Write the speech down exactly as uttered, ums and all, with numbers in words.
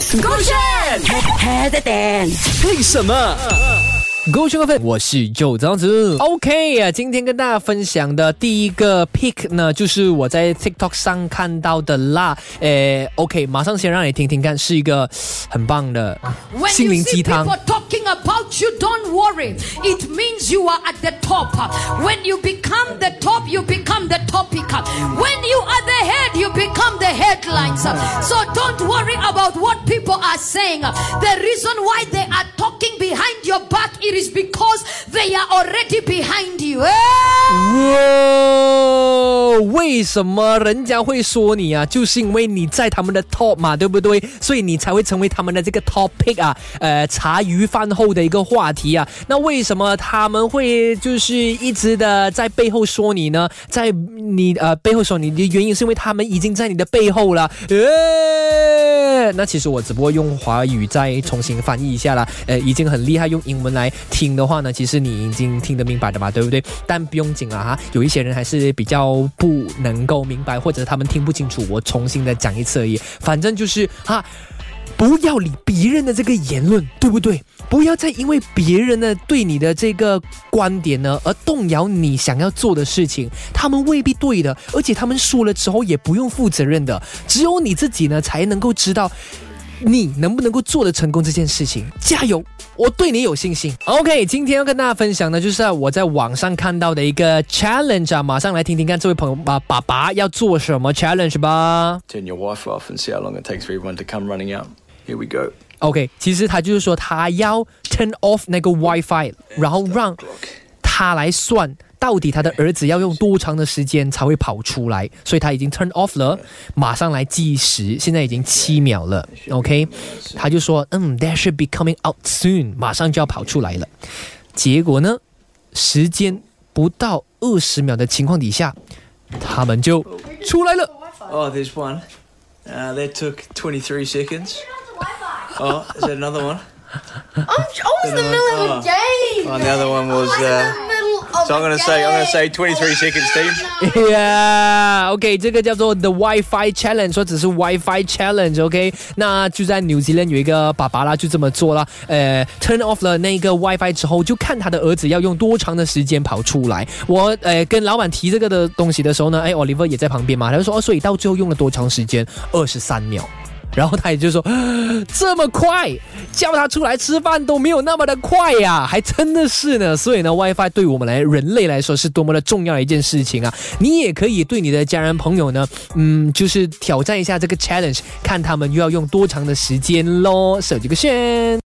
勾选 head and 为什么？ 勾选分，我是周张子。OK 啊，今天跟大家分享的第一个 pick 呢，就是我在 TikTok 上看到的啦。诶 ，OK， 马上先让你听听看，是一个很棒的心灵鸡汤。 When you see people talking about you, don't worry. It means you are at the top. When you become the top, you become the topic. When you are the head, you become the headlines. So don't worry about what people are saying. The reason why they are talking behind your back, it is because they are already behind you. 哇，为什么人家会说你啊？就是因为你在他们的 top 嘛，对不对？所以你才会成为他们的这个 topic 啊，呃，茶余饭后的一个话题啊。那为什么他们会就是一直的在背后说你呢？在你呃背后说你的原因是因为他们已经在你的背后了。呃，那其实我只不过用华语再重新翻译一下啦，呃，已经很厉害。用英文来听的话呢，其实你已经听得明白的嘛，对不对？但不用紧啊哈，有一些人还是比较不能够明白，或者他们听不清楚，我重新的讲一次而已。反正就是哈，不要理别人的这个言论，对不对？不要再因为别人呢对你的这个观点呢而动摇你想要做的事情，他们未必对的，而且他们说了之后也不用负责任的，只有你自己呢才能够知道你能不能够做得成功这件事情。加油，我对你有信心。 OK， 今天要跟大家分享的就是我在网上看到的一个 challenge 啊，马上来听听看这位朋友啊爸爸要做什么 challenge 吧。 Turn your wife off and see how long it takes for everyone to come running out. Here we go. OK， 其实他就是说他要 turn off 那个 WiFi， 然后让他来算到底他的儿子要用多长的时间才会跑出来，所以他已经 turn off 了，马上来计时，现在已经七秒了。 OK， 他就说嗯 that should be coming out soon， 马上就要跑出来了。结果呢，时间不到二十秒的情况底下，他们就出来了。 Oh, there's one. Uh, that took twenty-three seconds. Oh, is that another one? I was in the middle of a game. Oh, the other one was. Uh, so I'm going to say, I'm going to say twenty-three seconds, team. Yeah, OK， 这个叫做 The Wi-Fi Challenge， 或者是 Wi-Fi Challenge。OK， 那就在 New Zealand 有一个爸爸啦，就这么做了。呃 ，turn off 了那个 Wi-Fi 之后，就看他的儿子要用多长的时间跑出来。我呃跟老板提这个的东西的时候呢，哎 ，Oliver 也在旁边嘛，他就说哦，所以到最后用了多长时间？二十三秒。然后他也就说这么快，叫他出来吃饭都没有那么的快呀，还真的是呢。所以呢 WiFi 对我们来人类来说是多么的重要的一件事情啊。你也可以对你的家人朋友呢嗯，就是挑战一下这个 challenge， 看他们又要用多长的时间咯。手机个炫。